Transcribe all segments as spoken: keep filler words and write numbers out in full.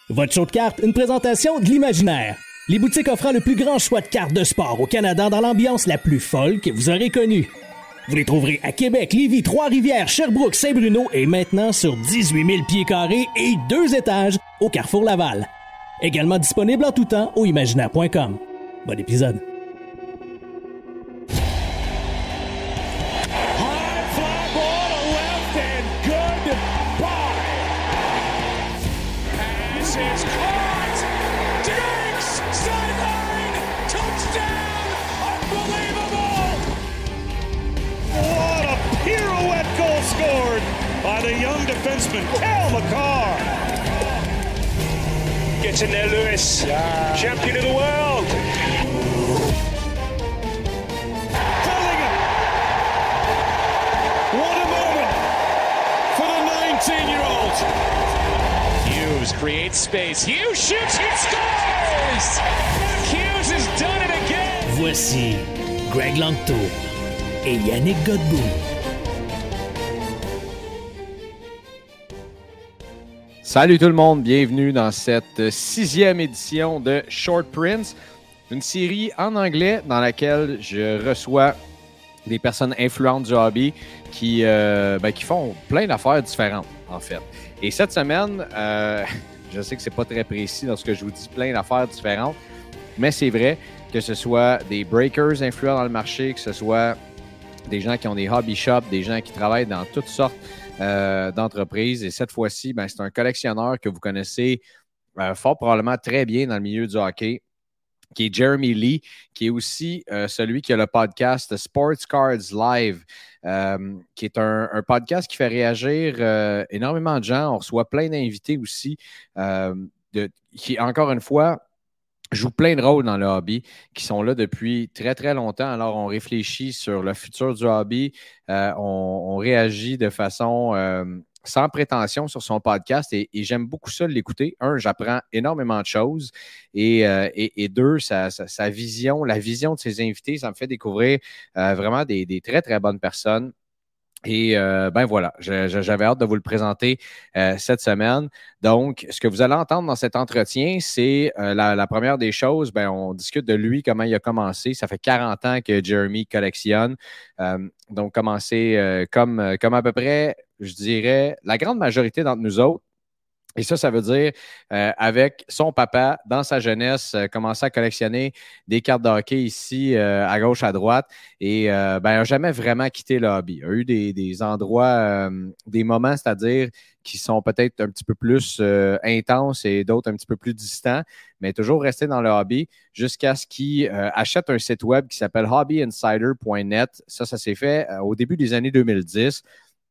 Votre show de cartes, une présentation de l'imaginaire. Les boutiques offrant le plus grand choix de cartes de sport au Canada dans l'ambiance la plus folle que vous aurez connue. Vous les trouverez à Québec, Lévis, Trois-Rivières, Sherbrooke, Saint-Bruno et maintenant sur dix-huit mille pieds carrés et deux étages au Carrefour Laval. Également disponible en tout temps au imaginaire point com. Bon épisode. By the young defenseman, Cale Makar. Gets in there, Lewis. Yeah. Champion of the world. Bellingham. What a moment for the nineteen-year-old. Hughes creates space. Hughes shoots, he scores! Hughes has done it again. Voici Greg Langto et Yannick Godbout. Salut tout le monde, bienvenue dans cette sixième édition de Short Prints, une série en anglais dans laquelle je reçois des personnes influentes du hobby qui, euh, ben, qui font plein d'affaires différentes, en fait. Et cette semaine, euh, je sais que c'est pas très précis lorsque je vous dis plein d'affaires différentes, mais c'est vrai que ce soit des breakers influents dans le marché, que ce soit des gens qui ont des hobby shops, des gens qui travaillent dans toutes sortes Euh, d'entreprise. Et cette fois-ci, ben, c'est un collectionneur que vous connaissez euh, fort probablement très bien dans le milieu du hockey, qui est Jeremy Lee, qui est aussi euh, celui qui a le podcast Sports Cards Live, euh, qui est un, un podcast qui fait réagir euh, énormément de gens. On reçoit plein d'invités aussi, euh, de, qui, encore une fois, jouent plein de rôles dans le hobby, qui sont là depuis très, très longtemps. Alors, on réfléchit sur le futur du hobby. Euh, on, on réagit de façon euh, sans prétention sur son podcast et, et j'aime beaucoup ça de l'écouter. Un, j'apprends énormément de choses et, euh, et, et deux, sa, sa, sa vision, la vision de ses invités, ça me fait découvrir euh, vraiment des, des très, très bonnes personnes. Et euh, ben voilà, je, je, j'avais hâte de vous le présenter euh, cette semaine. Donc, ce que vous allez entendre dans cet entretien, c'est euh, la, la première des choses, ben on discute de lui, comment il a commencé. Ça fait quarante ans que Jeremy collectionne. Euh, donc, commencé euh, comme, comme à peu près, je dirais, la grande majorité d'entre nous autres. Et ça, ça veut dire, euh, avec son papa, dans sa jeunesse, euh, commencer à collectionner des cartes de hockey ici, euh, à gauche, à droite, et euh, ben, il n'a jamais vraiment quitté le hobby. Il a eu des, des endroits, euh, des moments, c'est-à-dire, qui sont peut-être un petit peu plus euh, intenses et d'autres un petit peu plus distants, mais toujours resté dans le hobby jusqu'à ce qu'il euh, achète un site web qui s'appelle hobby insider point net. Ça, ça s'est fait euh, au début des années deux mille dix.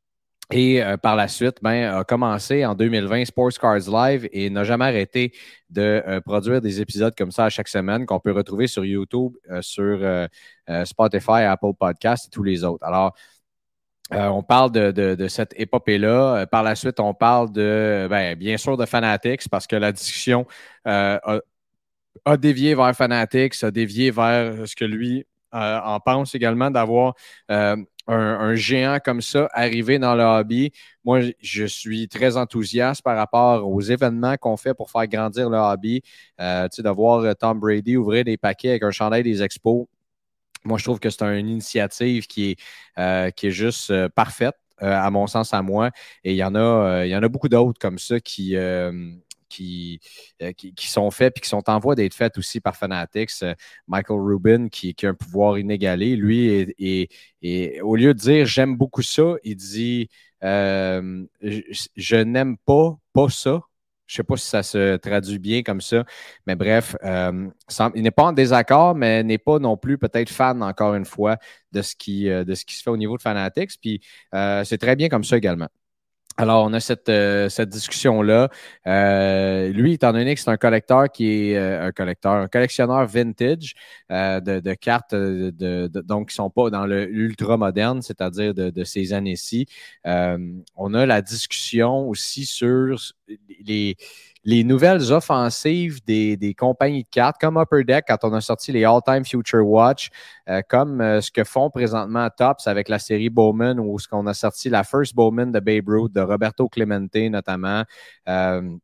Et euh, par la suite, ben, a commencé en deux mille vingt Sports Cards Live et n'a jamais arrêté de euh, produire des épisodes comme ça à chaque semaine qu'on peut retrouver sur YouTube, euh, sur euh, euh, Spotify, Apple Podcasts et tous les autres. Alors, euh, on parle de, de, de cette épopée-là. Euh, par la suite, on parle de, ben, bien sûr, de Fanatics parce que la discussion euh, a, a dévié vers Fanatics, a dévié vers ce que lui euh, en pense également d'avoir euh, Un, un géant comme ça arriver dans le hobby. Moi, je suis très enthousiaste par rapport aux événements qu'on fait pour faire grandir le hobby. Euh, tu sais, de voir Tom Brady ouvrir des paquets avec un chandail des Expos. Moi, je trouve que c'est une initiative qui est, euh, qui est juste euh, parfaite, euh, à mon sens, à moi. Et il y en a, euh, il y en a beaucoup d'autres comme ça qui... Euh, Qui, euh, qui, qui sont faits et qui sont en voie d'être faits aussi par Fanatics. Euh, Michael Rubin, qui, qui a un pouvoir inégalé, lui, et, et, et au lieu de dire « j'aime beaucoup ça », il dit euh, « je, je n'aime pas, pas ça ». Je ne sais pas si ça se traduit bien comme ça, mais bref, euh, il n'est pas en désaccord, mais n'est pas non plus peut-être fan, encore une fois, de ce qui, de ce qui se fait au niveau de Fanatics. Puis euh, c'est très bien comme ça également. Alors, on a cette, euh, cette discussion-là. Euh, lui, étant donné que c'est un collecteur qui est euh, un collecteur, un collectionneur vintage euh, de, de cartes, de, de, de, donc qui ne sont pas dans le l'ultra moderne, c'est-à-dire de, de ces années-ci. Euh, on a la discussion aussi sur les, les nouvelles offensives des, des compagnies de cartes, comme Upper Deck, quand on a sorti les All-Time Future Watch, euh, comme euh, ce que font présentement Topps avec la série Bowman, ou ce qu'on a sorti la First Bowman de Babe Ruth, de Roberto Clemente notamment. Euh,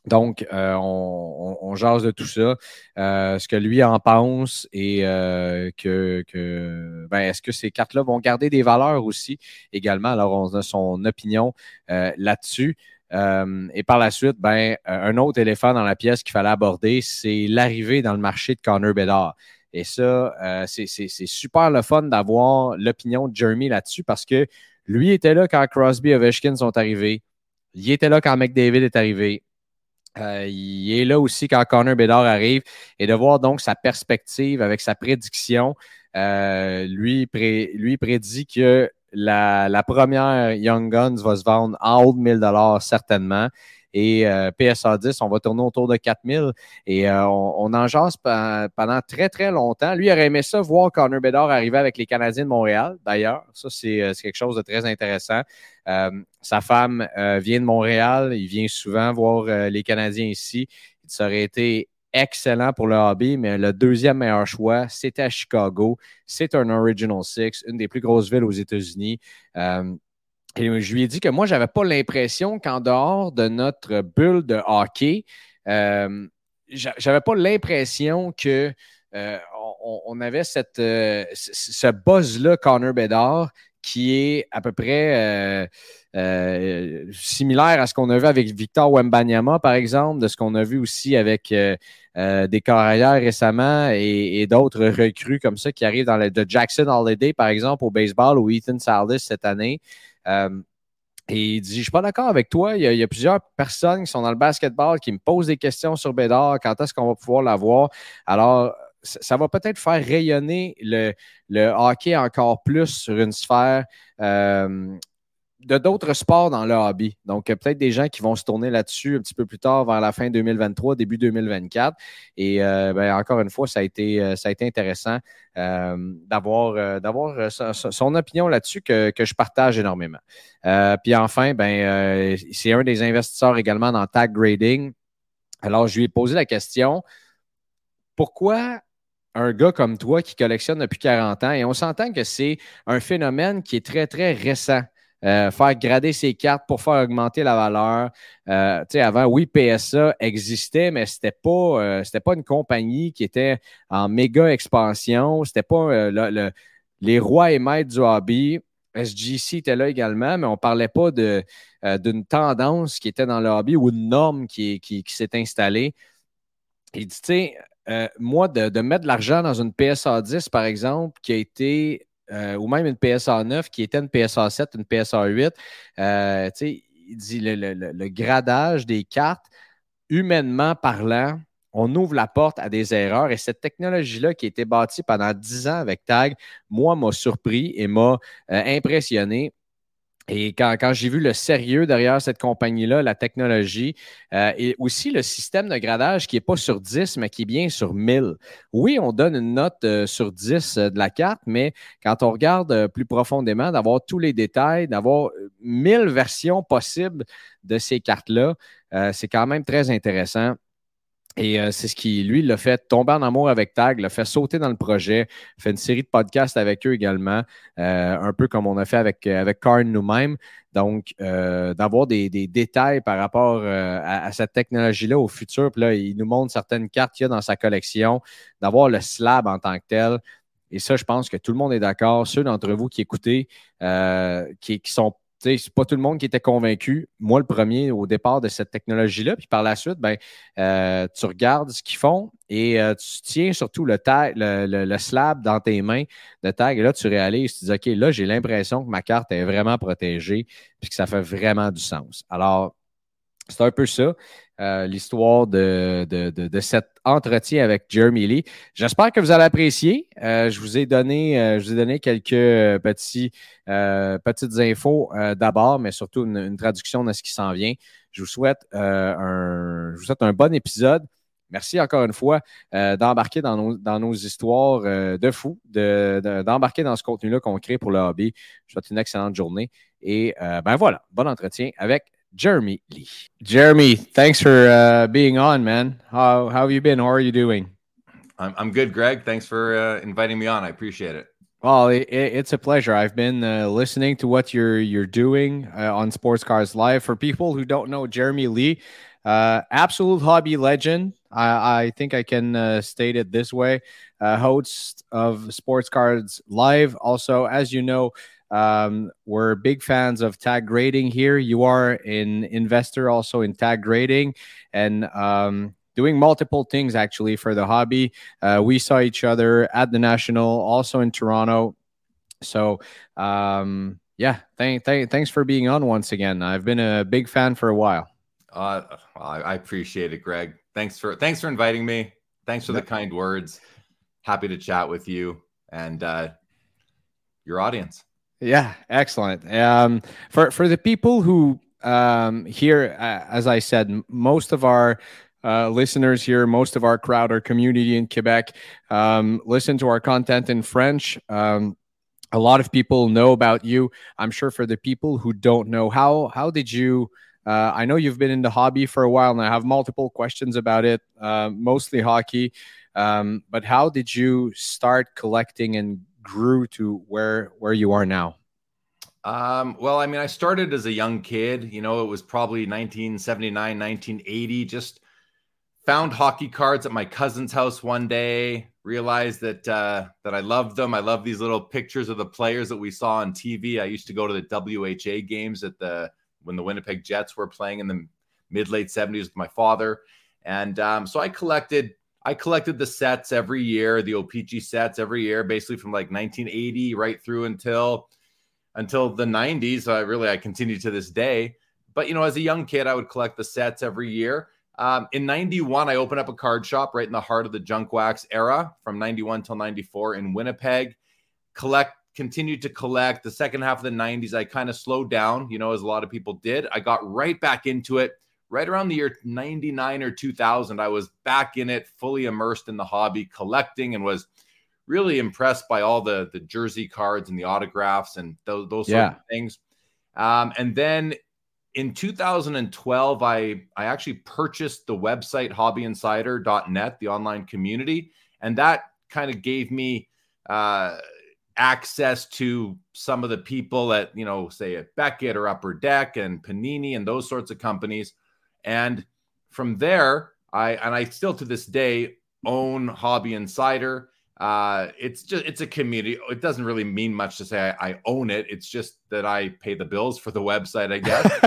Donc, euh, on, on, on jase de tout ça, euh, ce que lui en pense et euh, que, que ben, est-ce que ces cartes-là vont garder des valeurs aussi également. Alors, on a son opinion euh, là-dessus. Euh, et par la suite, ben, un autre éléphant dans la pièce qu'il fallait aborder, c'est l'arrivée dans le marché de Connor Bedard. Et ça, euh, c'est, c'est, c'est super le fun d'avoir l'opinion de Jeremy là-dessus parce que lui était là quand Crosby et Ovechkin sont arrivés. Il était là quand McDavid est arrivé. Euh, il est là aussi quand Connor Bedard arrive et de voir donc sa perspective avec sa prédiction. Euh, lui, pré, lui prédit que la, la première Young Guns va se vendre en haut de mille dollars certainement. Et euh, P S A dix, on va tourner autour de quatre mille. Et euh, on, on en jase pendant très, très longtemps. Lui, il aurait aimé ça, voir Connor Bedard arriver avec les Canadiens de Montréal, d'ailleurs. Ça, c'est, c'est quelque chose de très intéressant. Euh, sa femme euh, vient de Montréal. Il vient souvent voir euh, les Canadiens ici. Ça aurait été excellent pour le hobby, mais le deuxième meilleur choix, c'était à Chicago. C'est un Original Six, une des plus grosses villes aux États-Unis. Euh, Et je lui ai dit que moi, je n'avais pas l'impression qu'en dehors de notre bulle de hockey, euh, j'avais pas l'impression que euh, on, on avait cette, euh, ce buzz-là, Connor Bedard, qui est à peu près euh, euh, similaire à ce qu'on a vu avec Victor Wembanyama, par exemple, de ce qu'on a vu aussi avec euh, euh, des carrières récemment et, et d'autres recrues comme ça qui arrivent dans le de Jackson Holiday, par exemple, au baseball, ou Ethan Sallis cette année. Euh, et il dit, je ne suis pas d'accord avec toi. Il y, a, il y a plusieurs personnes qui sont dans le basketball qui me posent des questions sur Bedard. Quand est-ce qu'on va pouvoir l'avoir? Alors, ça, ça va peut-être faire rayonner le, le hockey encore plus sur une sphère euh, de d'autres sports dans le hobby. Donc, peut-être des gens qui vont se tourner là-dessus un petit peu plus tard vers la fin deux mille vingt-trois, début deux mille vingt-quatre. Et euh, ben, encore une fois, ça a été, ça a été intéressant euh, d'avoir, euh, d'avoir son, son opinion là-dessus que, que je partage énormément. Euh, puis enfin, ben, euh, c'est un des investisseurs également dans Tag Grading. Alors, je lui ai posé la question, pourquoi un gars comme toi qui collectionne depuis quarante ans, et on s'entend que c'est un phénomène qui est très, très récent. Euh, faire grader ses cartes pour faire augmenter la valeur. Euh, tu sais, avant, oui, P S A existait, mais c'était pas, euh, c'était pas une compagnie qui était en méga expansion. C'était pas euh, le, le, les rois et maîtres du hobby. S G C était là également, mais on parlait pas de, euh, d'une tendance qui était dans le hobby ou une norme qui, qui, qui s'est installée. Il dit, tu sais, euh, moi, de, de mettre de l'argent dans une P S A dix, par exemple, qui a été Euh, ou même une P S A neuf qui était une P S A sept, une P S A huit. Euh, il dit le, le, le gradage des cartes, humainement parlant, on ouvre la porte à des erreurs et cette technologie-là qui a été bâtie pendant dix ans avec Tag, moi, m'a surpris et m'a euh, impressionné. Et quand, quand j'ai vu le sérieux derrière cette compagnie-là, la technologie, euh, et aussi le système de gradage qui n'est pas sur dix, mais qui est bien sur mille. Oui, on donne une note euh, sur dix euh, de la carte, mais quand on regarde euh, plus profondément, d'avoir tous les détails, d'avoir mille versions possibles de ces cartes-là, euh, c'est quand même très intéressant. Et euh, c'est ce qui, lui, l'a fait tomber en amour avec Tag, l'a fait sauter dans le projet, fait une série de podcasts avec eux également, euh, un peu comme on a fait avec, avec Karn nous-mêmes. Donc, euh, d'avoir des, des détails par rapport euh, à, à cette technologie-là au futur. Puis là, il nous montre certaines cartes qu'il y a dans sa collection, d'avoir le slab en tant que tel. Et ça, je pense que tout le monde est d'accord. Ceux d'entre vous qui écoutez, euh, qui, qui sont c'est pas tout le monde qui était convaincu. Moi, le premier, au départ de cette technologie-là. Puis par la suite, ben, euh, tu regardes ce qu'ils font et euh, tu tiens surtout le, tag, le, le, le slab dans tes mains de tag. Et là, tu réalises, tu dis, OK, là, j'ai l'impression que ma carte est vraiment protégée puis que ça fait vraiment du sens. Alors, c'est un peu ça, euh, l'histoire de, de, de, de cet entretien avec Jeremy Lee. J'espère que vous allez apprécier. Euh, je vous ai donné, euh, je vous ai donné quelques petits, euh, petites infos euh, d'abord, mais surtout une, une traduction de ce qui s'en vient. Je vous souhaite, euh, un, je vous souhaite un bon épisode. Merci encore une fois euh, d'embarquer dans nos, dans nos histoires euh, de fous, de, de, d'embarquer dans ce contenu-là qu'on crée pour le hobby. Je vous souhaite une excellente journée. Et euh, ben voilà, bon entretien avec Jeremy Lee. Jeremy, thanks for uh, being on, man. How, how have you been? How are you doing? I'm, I'm good, Greg. Thanks for uh, inviting me on. I appreciate it. Well, it, it's a pleasure. I've been uh, listening to what you're you're doing uh, on Sports Cars Live. For people who don't know Jeremy Lee, Uh, absolute hobby legend. I, I think I can uh, state it this way. Uh, host of Sports Cards Live. Also, as you know, um, we're big fans of tag grading here. You are an investor also in tag grading and um, doing multiple things actually for the hobby. Uh, we saw each other at the National, also in Toronto. So, um, yeah, thank, thank, thanks for being on once again. I've been a big fan for a while. Uh, I, I appreciate it, Greg. Thanks for thanks for inviting me. Thanks for Yep. the kind words. Happy to chat with you and uh, your audience. Yeah, excellent. Um, for for the people who um, here, uh, as I said, m- most of our uh, listeners here, most of our crowd, our community in Quebec, um, listen to our content in French. Um, a lot of people know about you. I'm sure for the people who don't know, how how did you? Uh, I know you've been in the hobby for a while, and I have multiple questions about it, uh, mostly hockey. Um, but how did you start collecting and grew to where where you are now? Um, well, I mean, I started as a young kid. You know, it was probably nineteen seventy-nine, nineteen eighty. Just found hockey cards at my cousin's house one day. Realized that uh, that I loved them. I love these little pictures of the players that we saw on T V. I used to go to the W H A games at the when the Winnipeg Jets were playing in the mid late seventies with my father, and um, so I collected. I collected the sets every year, the O P G sets every year, basically from like nineteen eighty right through until until the nineties. I really I continued to this day. But you know, as a young kid, I would collect the sets every year. Um, in ninety-one, I opened up a card shop right in the heart of the junk wax era, from ninety-one till ninety-four in Winnipeg. Collect. Continued to collect. The second half of the nineties, I kind of slowed down, you know, as a lot of people did. I got right back into it right around the year ninety-nine or two thousand. I was back in it, fully immersed in the hobby, collecting, and was really impressed by all the, the jersey cards and the autographs and those, those Yeah. sort of things. Um, and then in two thousand twelve, I, I actually purchased the website hobby insider dot net, the online community. And that kind of gave me uh, access to some of the people at, you know, say at Beckett or Upper Deck and Panini and those sorts of companies. And from there, I, and I still to this day own Hobby Insider. Uh, it's just, it's a community. It doesn't really mean much to say I, I own it. It's just that I pay the bills for the website, I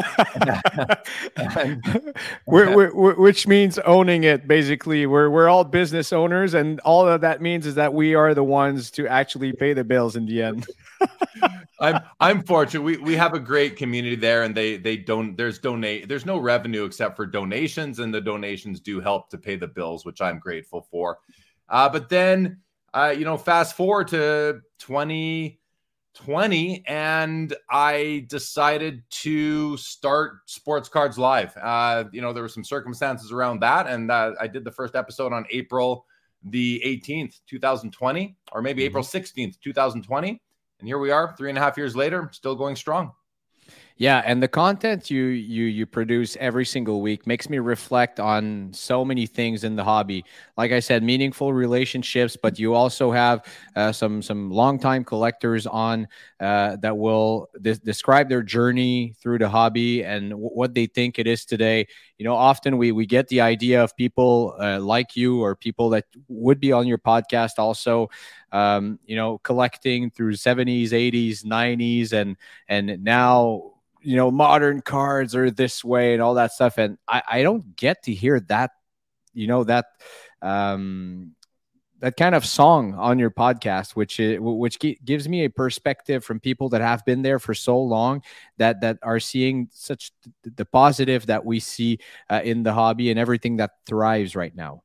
guess. and, we're, we're, we're, which means owning it. Basically, we're we're all business owners, and all that that means is that we are the ones to actually pay the bills in the end. I'm I'm fortunate. We we have a great community there, and they they don't. There's donate. There's no revenue except for donations, and the donations do help to pay the bills, which I'm grateful for. Uh, but then. Uh, you know, fast forward to twenty twenty, and I decided to start Sports Cards Live. Uh, you know, there were some circumstances around that, and uh, I did the first episode on April the eighteenth, twenty twenty, or maybe mm-hmm. April sixteenth, twenty twenty. And here we are, three and a half years later, still going strong. Yeah, and the content you you you produce every single week makes me reflect on so many things in the hobby. Like I said, meaningful relationships, but you also have uh, some some longtime collectors on uh, that will de- describe their journey through the hobby and w- what they think it is today. You know, often we we get the idea of people uh, like you or people that would be on your podcast also. Um, you know, collecting through seventies, eighties, nineties, and and now. You know, modern cards are this way and all that stuff. And I, I don't get to hear that, you know, that, um, that kind of song on your podcast, which is, which gives me a perspective from people that have been there for so long that, that are seeing such the positive that we see uh, in the hobby and everything that thrives right now.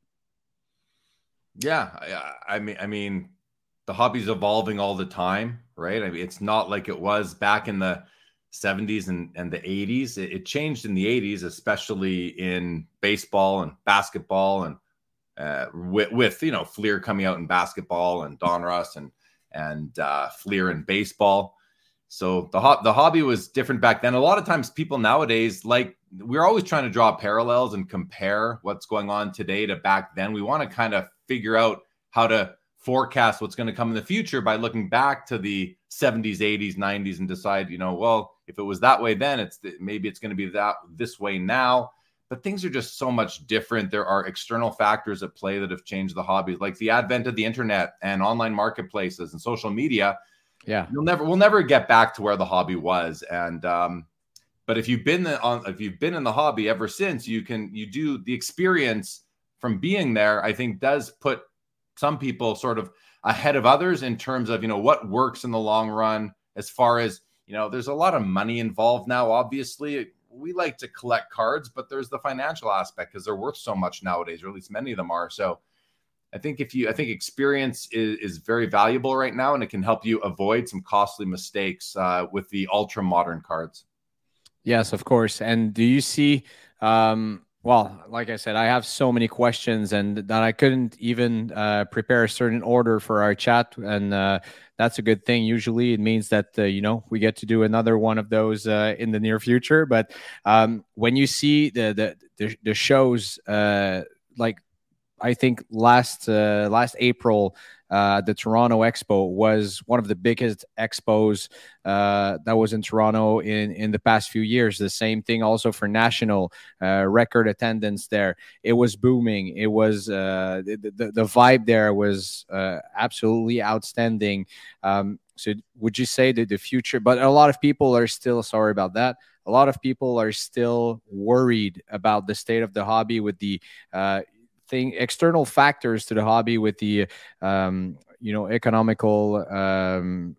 Yeah. I, I mean, I mean, the hobby's evolving all the time, right? I mean, it's not like it was back in the seventies and, and the eighties. It, it changed in the eighties, especially in baseball and basketball, and uh, with, with you know Fleer coming out in basketball and Donruss and and uh, Fleer in baseball. So the ho- the hobby was different back then. A lot of times, people nowadays, like we're always trying to draw parallels and compare what's going on today to back then. We want to kind of figure out how to forecast what's going to come in the future by looking back to the seventies, eighties, nineties and decide, you know, well, if it was that way then, it's maybe it's going to be that this way now. but things are just so much different. There are external factors at play that have changed the hobby, like the advent of the internet and online marketplaces and social media. Yeah, you'll never, we'll never get back to where the hobby was. And, um, but if you've been on, if you've been in the hobby ever since, you can, you do the experience from being there, I think does put some people sort of ahead of others in terms of, you know, what works in the long run. As far as, you know, there's a lot of money involved now. Obviously, we like to collect cards, but there's the financial aspect because they're worth so much nowadays, or at least many of them are. So I think if you, I think experience is, is very valuable right now, and it can help you avoid some costly mistakes uh, with the ultra modern cards. Yes, of course. And do you see, um, well, like I said, I have so many questions, and that I couldn't even uh, prepare a certain order for our chat. And uh, that's a good thing. Usually it means that, uh, you know, we get to do another one of those uh, in the near future. But um, when you see the, the, the, the shows, uh, like I think last, uh, last April, Uh, the Toronto Expo was one of the biggest expos uh, that was in Toronto in, in the past few years. The same thing also for National, uh, record attendance there. It was booming. It was uh, the, the, the vibe there was uh, absolutely outstanding. Um, so would you say that the future, but a lot of people are still, sorry about that, a lot of people are still worried about the state of the hobby with the uh, thing, external factors to the hobby, with the um, you know, economical um,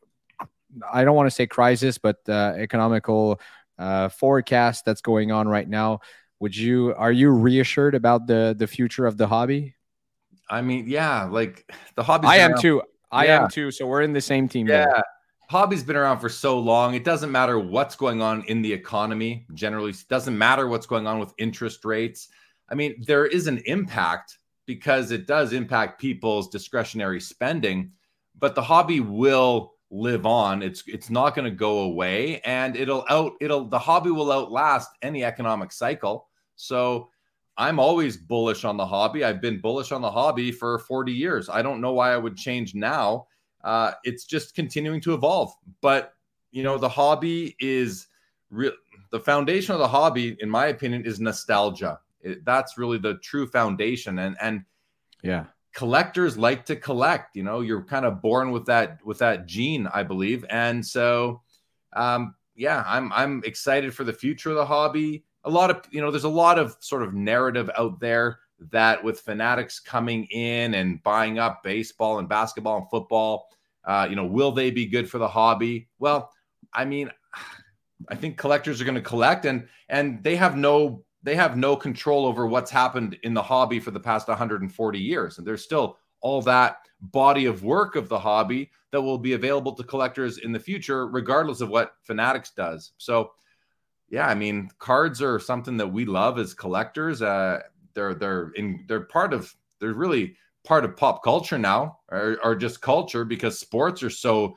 I don't want to say crisis, but uh, economical uh, forecast that's going on right now. Would you, are you reassured about the the future of the hobby? I mean, yeah, like the hobby. I am around. too. I yeah. am too. So we're in the same team. Yeah. There. Hobby's been around for so long. It doesn't matter what's going on in the economy. Generally, it doesn't matter what's going on with interest rates. I mean, there is an impact because it does impact people's discretionary spending, but the hobby will live on. It's it's not going to go away, and it'll out it'll the hobby will outlast any economic cycle. So I'm always bullish on the hobby. I've been bullish on the hobby for forty years. I don't know why I would change now. Uh, it's just continuing to evolve. But, you know, the hobby is real. The foundation of the hobby, in my opinion, is nostalgia. It, that's really the true foundation. And, and yeah, collectors like to collect. You know, you're kind of born with that, with that gene, I believe. And so, um, yeah, I'm, I'm excited for the future of the hobby. A lot of, you know, there's a lot of sort of narrative out there that with Fanatics coming in and buying up baseball and basketball and football, uh, you know, will they be good for the hobby? Well, I mean, I think collectors are going to collect, and and they have no they have no control over what's happened in the hobby for the past one hundred forty years. And there's still all that body of work of the hobby that will be available to collectors in the future, regardless of what Fanatics does. So, yeah, I mean, cards are something that we love as collectors. Uh, they're they're in they're part of they're really part of pop culture now, or, or just culture, because sports are so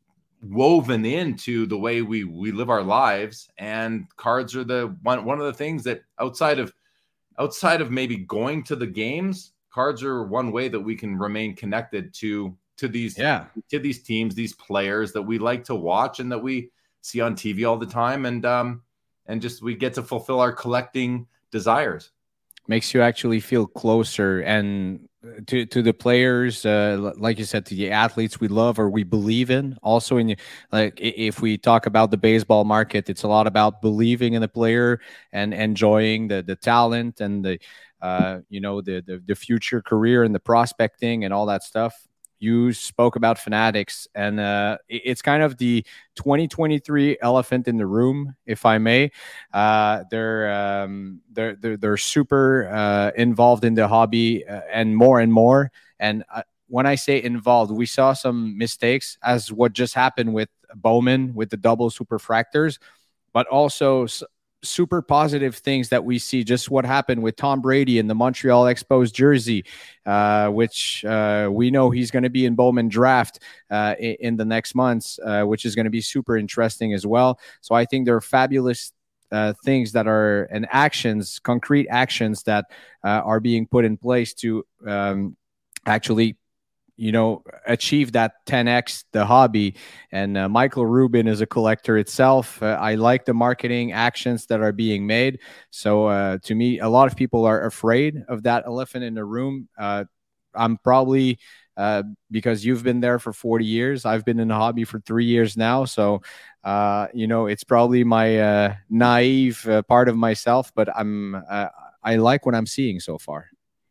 woven into the way we we live our lives, and cards are the one one of the things that outside of outside of maybe going to the games, cards are one way that we can remain connected to to these yeah to these teams, these players that we like to watch and that we see on T V all the time, and um and just we get to fulfill our collecting desires. Makes you actually feel closer and to to the players, uh, like you said, to the athletes we love or we believe in. Also, in like if we talk about the baseball market, it's a lot about believing in the player and enjoying the the talent and the uh, you know the, the the future career and the prospecting and all that stuff. You spoke about Fanatics, and uh, it's kind of the twenty twenty-three elephant in the room, if I may. Uh, they're, um, they're they're they're super uh, involved in the hobby, uh, and more and more. And uh, when I say involved, we saw some mistakes, as what just happened with Bowman with the double superfractors, but also super positive things that we see. Just what happened with Tom Brady in the Montreal Expos jersey, uh, which uh, we know he's going to be in Bowman draft uh, in, in the next months, uh, which is going to be super interesting as well. So I think there are fabulous uh, things that are and actions, concrete actions that uh, are being put in place to um, actually, you know, achieve that ten X the hobby. And uh, Michael Rubin is a collector itself. Uh, I like the marketing actions that are being made. So uh, to me, a lot of people are afraid of that elephant in the room. Uh, I'm probably uh, because you've been there for forty years. I've been in the hobby for three years now. So, uh, you know, it's probably my uh, naive uh, part of myself, but I'm uh, I like what I'm seeing so far.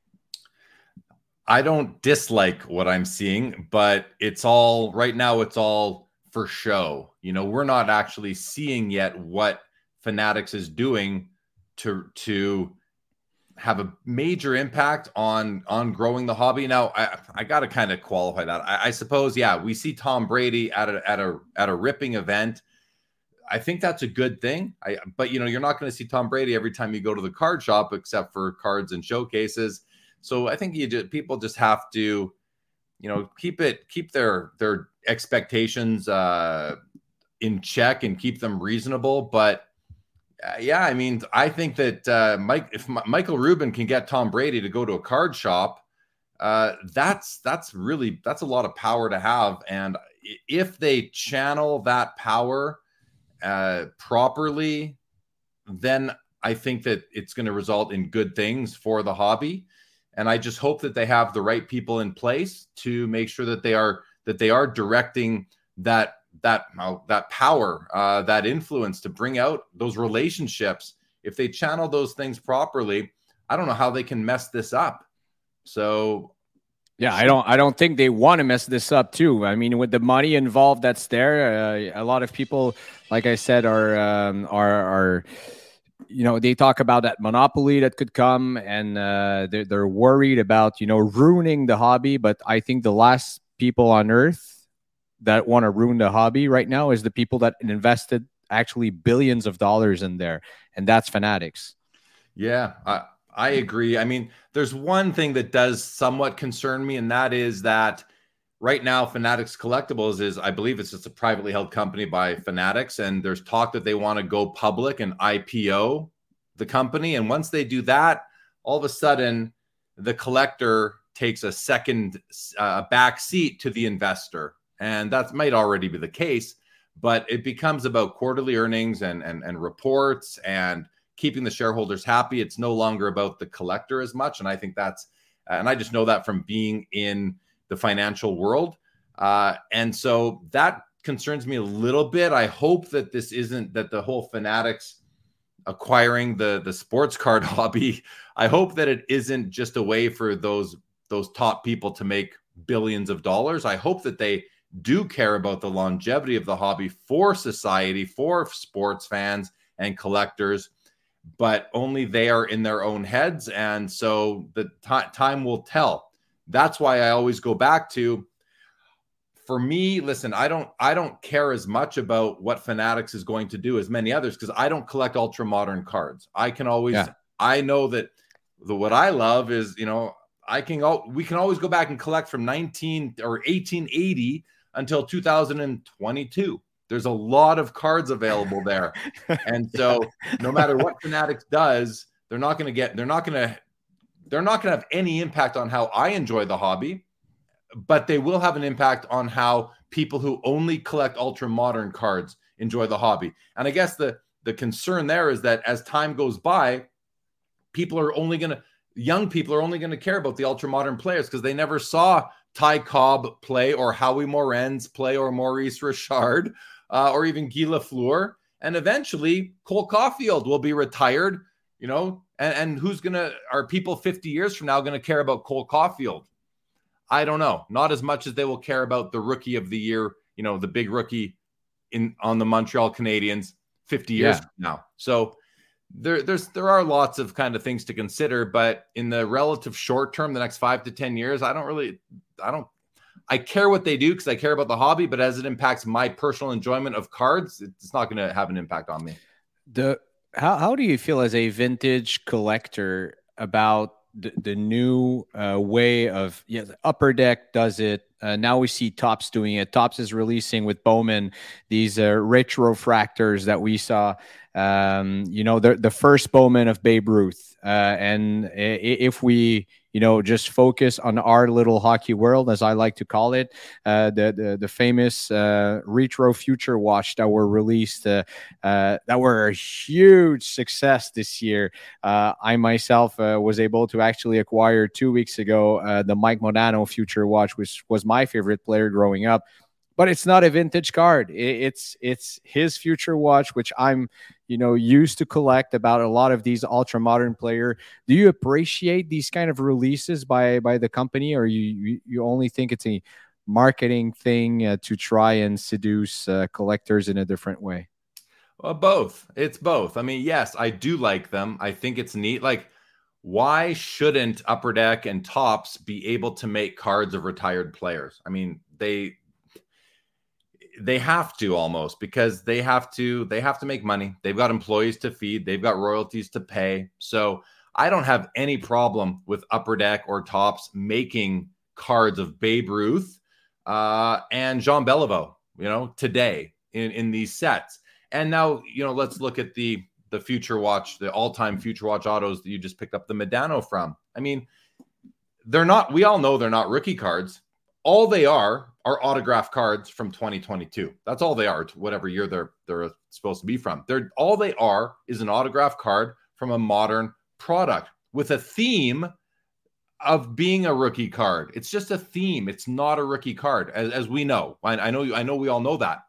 I don't dislike what I'm seeing, but it's all right now. It's all for show. You know, we're not actually seeing yet what Fanatics is doing to to have a major impact on on growing the hobby. Now, I I got to kind of qualify that. I, I suppose, yeah, we see Tom Brady at a at a at a ripping event. I think that's a good thing. I but you know, you're not going to see Tom Brady every time you go to the card shop, except for cards and showcases. So I think you just, people just have to, you know, keep it, keep their their expectations uh, in check and keep them reasonable. But uh, yeah, I mean, I think that uh, Mike, if M- Michael Rubin can get Tom Brady to go to a card shop, uh, that's that's really that's a lot of power to have. And if they channel that power uh, properly, then I think that it's going to result in good things for the hobby. And I just hope that they have the right people in place to make sure that they are that they are directing that that uh, that power, uh, that influence to bring out those relationships. If they channel those things properly, I don't know how they can mess this up. So, yeah, I don't I don't think they want to mess this up too. I mean, with the money involved that's there, uh, a lot of people, like I said, are um, are are. You know, they talk about that monopoly that could come, and uh, they're, they're worried about, you know, ruining the hobby. But I think the last people on earth that want to ruin the hobby right now is the people that invested actually billions of dollars in there. And that's Fanatics. Yeah, I, I agree. I mean, there's one thing that does somewhat concern me, and that is that right now, Fanatics Collectibles is, I believe it's just a privately held company by Fanatics, and there's talk that they want to go public and I P O the company. And once they do that, all of a sudden, the collector takes a second uh, back seat to the investor. And that might already be the case, but it becomes about quarterly earnings and, and, and reports and keeping the shareholders happy. It's no longer about the collector as much. And I think that's, and I just know that from being in the financial world. Uh, and so that concerns me a little bit. I hope that this isn't that the whole Fanatics acquiring the, the sports card hobby. I hope that it isn't just a way for those, those top people to make billions of dollars. I hope that they do care about the longevity of the hobby for society, for sports fans and collectors, but only they are in their own heads. And so the t- time will tell. That's why I always go back to, for me, listen, I don't I don't care as much about what Fanatics is going to do as many others, because I don't collect ultra modern cards. I can always, yeah. I know that the what I love is, you know, I can we can always go back and collect from nineteen or eighteen eighty until two thousand twenty-two. There's a lot of cards available there. And so no matter what Fanatics does, they're not going to get, they're not going to, they're not going to have any impact on how I enjoy the hobby, but they will have an impact on how people who only collect ultra modern cards enjoy the hobby. And I guess the, the concern there is that as time goes by, people are only going to, young people are only going to care about the ultra modern players because they never saw Ty Cobb play or Howie Morenz play or Maurice Richard uh, or even Guy Lafleur. And eventually Cole Caulfield will be retired, you know, and, and who's going to, are people fifty years from now going to care about Cole Caulfield? I don't know. Not as much as they will care about the rookie of the year, you know, the big rookie in on the Montreal Canadiens fifty years yeah. from now. So there, there's there are lots of kind of things to consider, but in the relative short term, the next five to ten years, I don't really, I don't, I care what they do because I care about the hobby, but as it impacts my personal enjoyment of cards, it's not going to have an impact on me. The how how do you feel as a vintage collector about the, the new uh, way of, yeah, Upper Deck does it. Uh, now we see Topps doing it. Topps is releasing with Bowman these uh, retrofractors that we saw um, you know, the, the first Bowman of Babe Ruth. Uh, and if we, you know, just focus on our little hockey world, as I like to call it, uh, the, the the famous uh, retro future watch that were released, uh, uh, that were a huge success this year. Uh, I myself uh, was able to actually acquire two weeks ago uh, the Mike Modano future watch, which was my favorite player growing up. But it's not a vintage card. It's it's his future watch, which I'm, you know, used to collect about a lot of these ultra modern player. Do you appreciate these kind of releases by by the company, or you you only think it's a marketing thing uh, to try and seduce uh, collectors in a different way? Well, both. It's both. I mean, yes, I do like them. I think it's neat. Like, why shouldn't Upper Deck and Topps be able to make cards of retired players? I mean, they. They have to almost because they have to they have to make money. They've got employees to feed. They've got royalties to pay. So I don't have any problem with Upper Deck or Topps making cards of Babe Ruth uh, and Jean Beliveau, you know, today in, in these sets. And now, you know, let's look at the the future watch, the all-time future watch autos that you just picked up the Modano from. I mean, they're not, we all know they're not rookie cards. All they are are autograph cards from twenty twenty-two. That's all they are, whatever year they're they're supposed to be from. They're all they are is an autograph card from a modern product with a theme of being a rookie card. It's just a theme. It's not a rookie card, as, as we know. I, I know I know we all know that.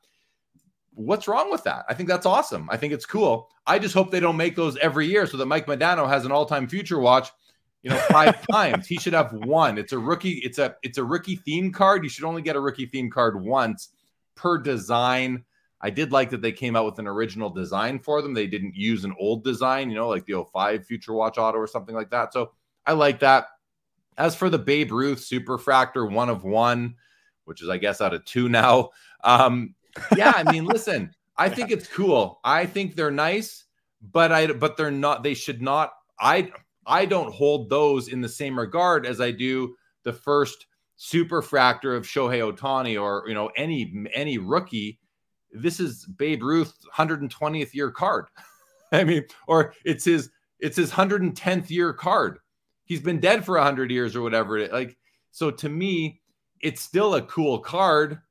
What's wrong with that? I think that's awesome. I think it's cool. I just hope they don't make those every year so that Mike Modano has an all-time future watch, you know, five times. He should have one. It's a rookie. It's a it's a rookie theme card. You should only get a rookie theme card once per design. I did like that they came out with an original design for them. They didn't use an old design, you know, like the oh five Future Watch Auto or something like that. So I like that. As for the Babe Ruth Superfractor one of one, which is, I guess, out of two now. Um, yeah, I mean, listen, I think it's cool. I think they're nice, but I but they're not. They should not. I I don't hold those in the same regard as I do the first Superfractor of Shohei Ohtani or, you know, any any rookie. This is Babe Ruth's one hundred twentieth year card. I mean, or it's his it's his one hundred tenth year card. He's been dead for one hundred years or whatever. It, like, so to me, it's still a cool card.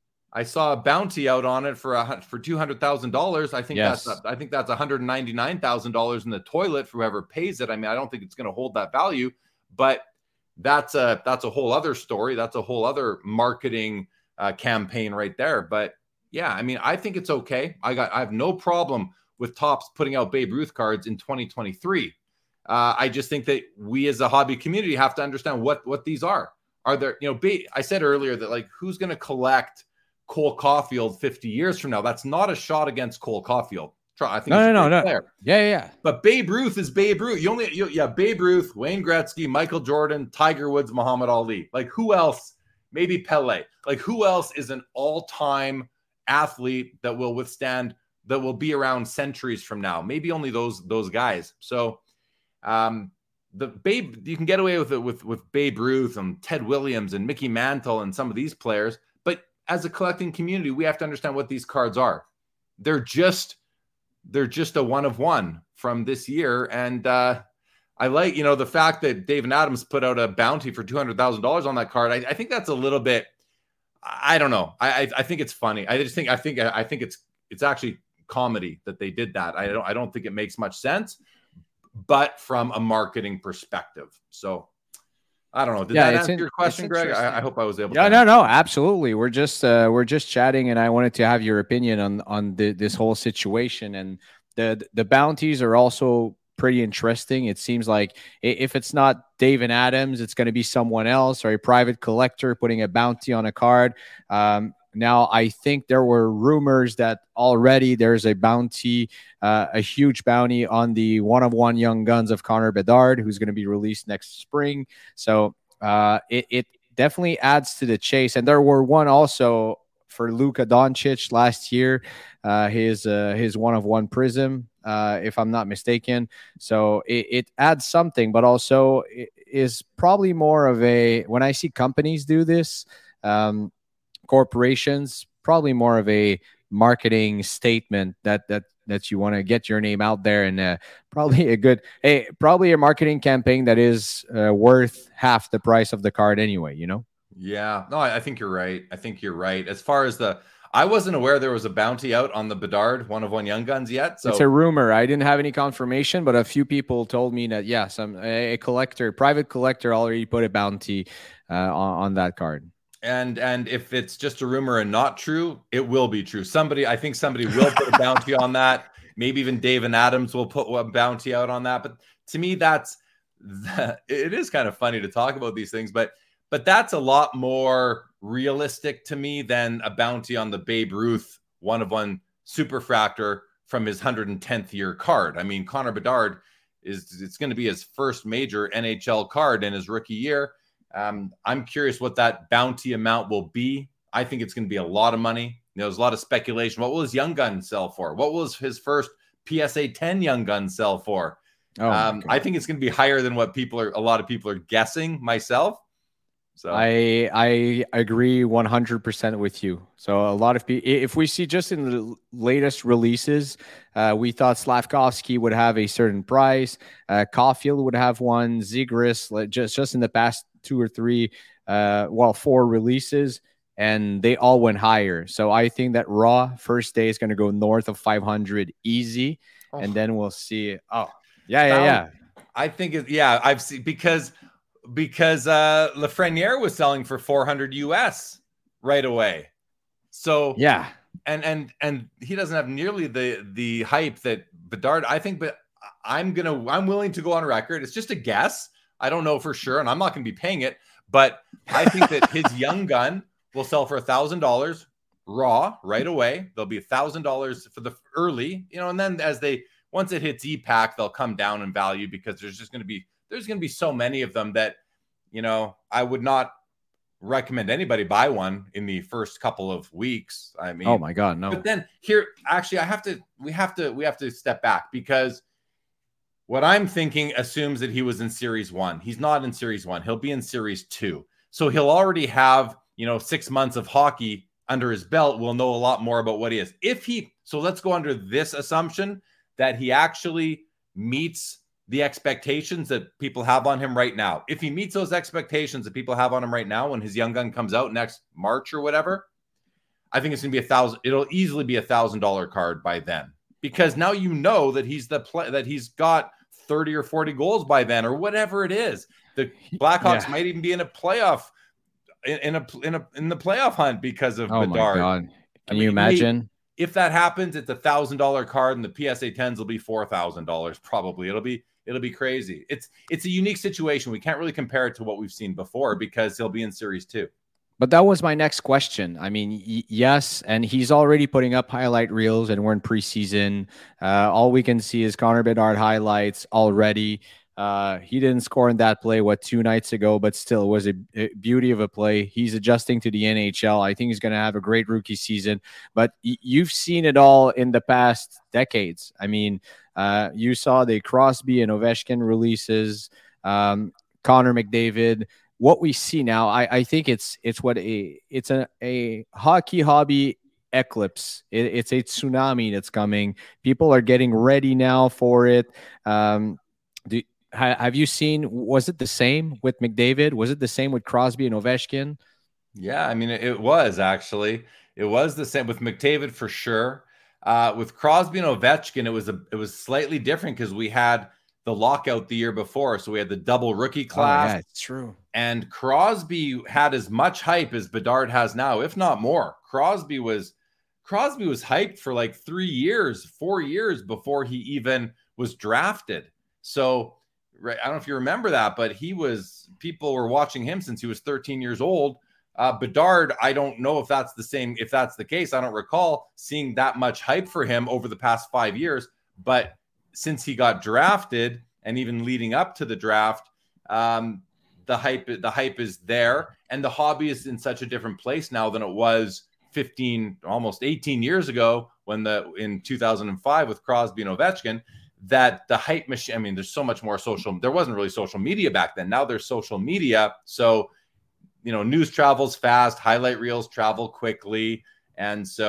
I saw a bounty out on it for a, for two hundred thousand dollars. I think yes. that's a, I think that's one hundred ninety-nine thousand dollars in the toilet for whoever pays it. I mean, I don't think it's going to hold that value, but that's a that's a whole other story. That's a whole other marketing uh, campaign right there. But yeah, I mean, I think it's okay. I got I have no problem with Topps putting out Babe Ruth cards in twenty twenty-three. Uh, I just think that we as a hobby community have to understand what what these are. Are there, you know, ba- I said earlier that, like, who's going to collect Cole Caulfield fifty years from now? That's not a shot against Cole Caulfield. I think no, no, no, no. Yeah, yeah. But Babe Ruth is Babe Ruth. You only, you, yeah, Babe Ruth, Wayne Gretzky, Michael Jordan, Tiger Woods, Muhammad Ali. Like, who else? Maybe Pele. Like, who else is an all-time athlete that will withstand, that will be around centuries from now? Maybe only those those guys. So, um, the Babe, you can get away with it with with Babe Ruth and Ted Williams and Mickey Mantle and some of these players. But as a collecting community, we have to understand what these cards are. They're just they're just a one of one from this year. And uh, I like, you know, the fact that David Adams put out a bounty for two hundred thousand dollars on that card. I, I think that's a little bit, I don't know. I, I I think it's funny. I just think I think I think it's it's actually comedy that they did that. I don't I don't think it makes much sense, but from a marketing perspective. So I don't know. Did yeah, that answer in, your question, Greg? I, I hope I was able yeah, to. Yeah, no, no, absolutely. We're just uh, we're just chatting, and I wanted to have your opinion on on the, this whole situation. And the the bounties are also pretty interesting. It seems like if it's not David Adams, it's going to be someone else or a private collector putting a bounty on a card. Um, Now, I think there were rumors that already there's a bounty, uh, a huge bounty on the one-of-one Young Guns of Connor Bedard, who's going to be released next spring. So uh, it, it definitely adds to the chase. And there were one also for Luka Doncic last year, uh, his uh, his one-of-one Prism, uh, if I'm not mistaken. So it, it adds something, but also it is probably more of a, when I see companies do this, um, corporations, probably more of a marketing statement that that that you want to get your name out there, and uh, probably a good, hey, probably a marketing campaign that is uh, worth half the price of the card anyway. You know? Yeah, no, I, I think you're right. I think you're right. As far as the, I wasn't aware there was a bounty out on the Bedard one of one Young Guns yet. So it's a rumor. I didn't have any confirmation, but a few people told me that yeah, some a, a collector, private collector, already put a bounty uh, on, on that card. And and if it's just a rumor and not true, it will be true. Somebody, I think somebody will put a bounty on that. Maybe even David Adams will put a bounty out on that. But to me, that's that, it is kind of funny to talk about these things, but but that's a lot more realistic to me than a bounty on the Babe Ruth one of one superfractor from his one hundred tenth year card. I mean, Connor Bedard is it's going to be his first major N H L card in his rookie year. Um, I'm curious what that bounty amount will be. I think it's going to be a lot of money. You know, there's a lot of speculation. What will his Young Gun sell for? What will his first P S A ten Young Gun sell for? Oh, um, I think it's going to be higher than what people are. A lot of people are guessing. Myself, so I I agree one hundred percent with you. So a lot of people, if we see just in the latest releases, uh, we thought Slavkovsky would have a certain price. Uh, Caulfield would have one. Zegras, like just just in the past two or three, uh, well, four releases, and they all went higher. So I think that Raw first day is going to go north of five hundred easy, oh. and then we'll see. Oh, yeah, yeah, yeah. I think it. Yeah, I've seen because because uh, Lafreniere was selling for four hundred U S right away. So yeah, and and and he doesn't have nearly the the hype that Bedard. I think, but I'm gonna I'm willing to go on record. It's just a guess. I don't know for sure, and I'm not going to be paying it, but I think that his Young Gun will sell for a thousand dollars raw right away. There'll be a thousand dollars for the early, you know, and then as they once it hits E-Pack, they'll come down in value because there's just going to be there's going to be so many of them that, you know, I would not recommend anybody buy one in the first couple of weeks. I mean, oh my God, no. But then here, actually, I have to we have to we have to step back because what I'm thinking assumes that he was in Series One. He's not in Series One. He'll be in Series Two. So he'll already have, you know, six months of hockey under his belt. We'll know a lot more about what he is. If he, so let's go under this assumption that he actually meets the expectations that people have on him right now. If he meets those expectations that people have on him right now, when his Young Gun comes out next March or whatever, I think it's going to be a thousand. It'll easily be a thousand dollar card by then, because now you know that he's the play that he's got thirty or forty goals by then, or whatever it is. The Blackhawks yeah. might even be in a playoff in, in a in a in the playoff hunt because of oh Bedard. My God. Can I mean, you imagine? If that happens, it's a thousand dollar card, and the P S A tens will be four thousand dollars probably. It'll be it'll be crazy. It's it's a unique situation. We can't really compare it to what we've seen before because he'll be in Series Two. But that was my next question. I mean, y- yes, and he's already putting up highlight reels, and we're in preseason. Uh, all we can see is Connor Bedard highlights already. Uh, he didn't score in that play, what, two nights ago, but still it was a, a beauty of a play. He's adjusting to the N H L. I think he's going to have a great rookie season. But y- you've seen it all in the past decades. I mean, uh, you saw the Crosby and Ovechkin releases, um, Connor McDavid. What we see now, I, I think it's it's what a it's a, a hockey hobby eclipse. It, it's a tsunami that's coming. People are getting ready now for it. Um, do, ha, have you seen? Was it the same with McDavid? Was it the same with Crosby and Ovechkin? Yeah, I mean, it, it was actually. It was the same with McDavid for sure. Uh, with Crosby and Ovechkin, it was a it was slightly different because we had the lockout the year before, so we had the double rookie class. Oh, yeah, it's true. And Crosby had as much hype as Bedard has now, if not more. Crosby was Crosby was hyped for like three years, four years before he even was drafted. So right, I don't know if you remember that, but he was people were watching him since he was thirteen years old. Uh, Bedard, I don't know if that's the same, if that's the case. I don't recall seeing that much hype for him over the past five years. But since he got drafted and even leading up to the draft, um, the hype, the hype is there, and the hobby is in such a different place now than it was fifteen, almost eighteen years ago when the in two thousand five with Crosby and Ovechkin. That the hype machine. I mean, there's so much more social. There wasn't really social media back then. Now there's social media, so you know, news travels fast, highlight reels travel quickly, and so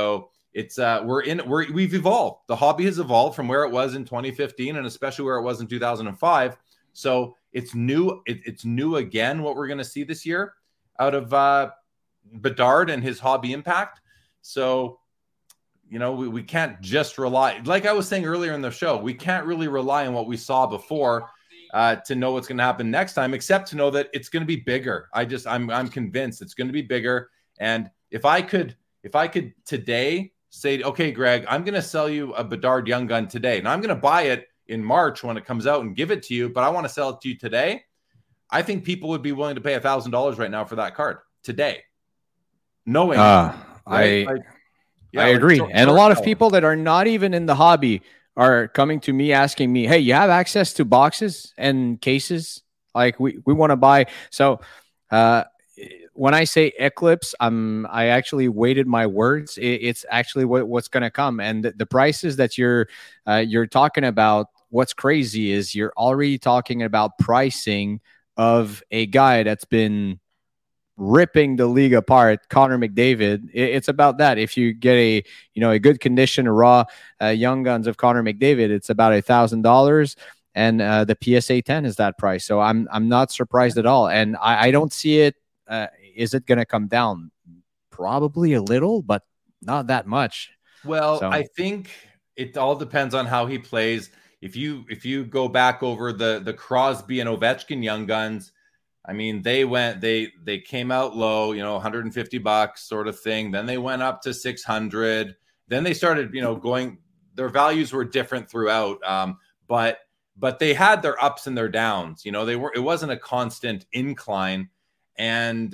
it's uh, we're in we're we've evolved. The hobby has evolved from where it was in twenty fifteen, and especially where it was in two thousand five. So it's new. It, it's new again. What we're going to see this year out of uh, Bedard and his hobby impact. So, you know, we, we can't just rely, like I was saying earlier in the show, we can't really rely on what we saw before uh, to know what's going to happen next time, except to know that it's going to be bigger. I just, I'm, I'm convinced it's going to be bigger. And if I could, if I could today say, okay, Greg, I'm going to sell you a Bedard Young Gun today, and I'm going to buy it in March when it comes out and give it to you, but I want to sell it to you today. I think people would be willing to pay a thousand dollars right now for that card today. Knowing, uh, right? I, like, yeah, I like, agree. short, and short a lot of sell. people that are not even in the hobby are coming to me asking me, hey, you have access to boxes and cases? Like we, we want to buy. So, uh, when I say Eclipse, I'm I actually weighted my words. It, it's actually what, what's going to come, and the, the prices that you're uh, you're talking about. What's crazy is you're already talking about pricing of a guy that's been ripping the league apart, Connor McDavid. It, it's about that. If you get a you know a good condition raw uh, Young Guns of Connor McDavid, it's about a thousand dollars. And uh, the P S A ten is that price. So I'm I'm not surprised at all, and I, I don't see it. Uh, is it going to come down? Probably a little, but not that much. Well, So- I think it all depends on how he plays. If you if you go back over the the Crosby and Ovechkin Young Guns, I mean, they went they they came out low, you know, one hundred fifty bucks sort of thing. Then they went up to six hundred. Then they started, you know, going. Their values were different throughout, um, but but they had their ups and their downs. You know, they were. It wasn't a constant incline. And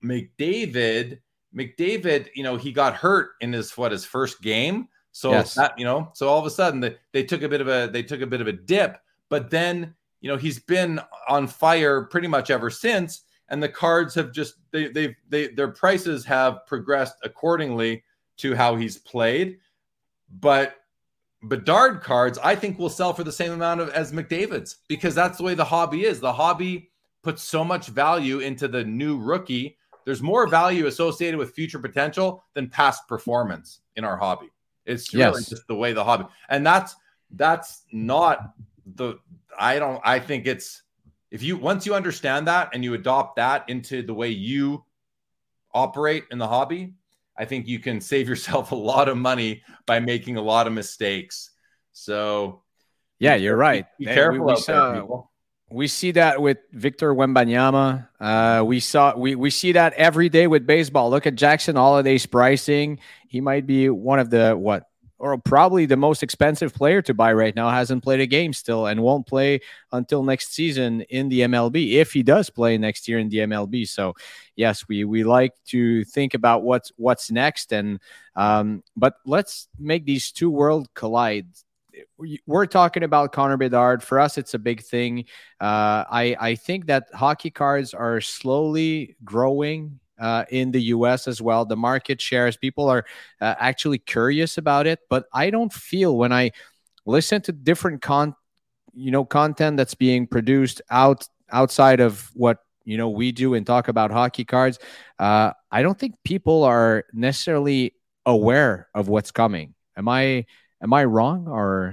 McDavid, McDavid, you know, he got hurt in his what his first game. So Yes. that, you know, so all of a sudden they, they took a bit of a they took a bit of a dip. But then, you know, he's been on fire pretty much ever since. And the cards have just they they they their prices have progressed accordingly to how he's played. But Bedard cards, I think, will sell for the same amount of as McDavid's, because that's the way the hobby is. The hobby puts so much value into the new rookie. There's more value associated with future potential than past performance in our hobby. It's really Yes. just the way the hobby, and that's that's not the. I don't. I think it's if you once you understand that and you adopt that into the way you operate in the hobby, I think you can save yourself a lot of money by making a lot of mistakes. So, Yeah, you're right. Be Hey, careful we, we out there, saw, people. we see that with Victor Wembanyama. Uh, we saw we we see that every day with baseball. Look at Jackson Holliday's pricing. He might be one of the what or probably the most expensive player to buy right now. Hasn't played a game still and won't play until next season in the M L B, if he does play next year in the M L B. So yes, we we like to think about what's what's next. And um, but let's make these two worlds collide. We're talking about Connor Bedard. For us, it's a big thing. Uh, I I think that hockey cards are slowly growing uh, in the U S as well. The market shares, people are uh, actually curious about it. But I don't feel when I listen to different con, you know, content that's being produced out outside of what you know we do and talk about hockey cards. Uh, I don't think people are necessarily aware of what's coming. Am I? Am I wrong, or